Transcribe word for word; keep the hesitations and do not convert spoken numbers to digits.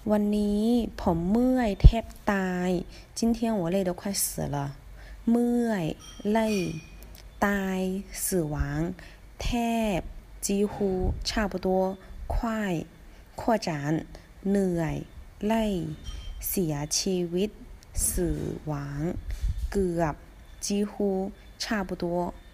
วันนี้ผมเมื่อยแทบตาย今天我累得快死了เมื่อย累ตาย死亡แทบ几乎差不多快扩展เหนื่อยเล่เสียชีวิต死亡เกือบ几乎差不多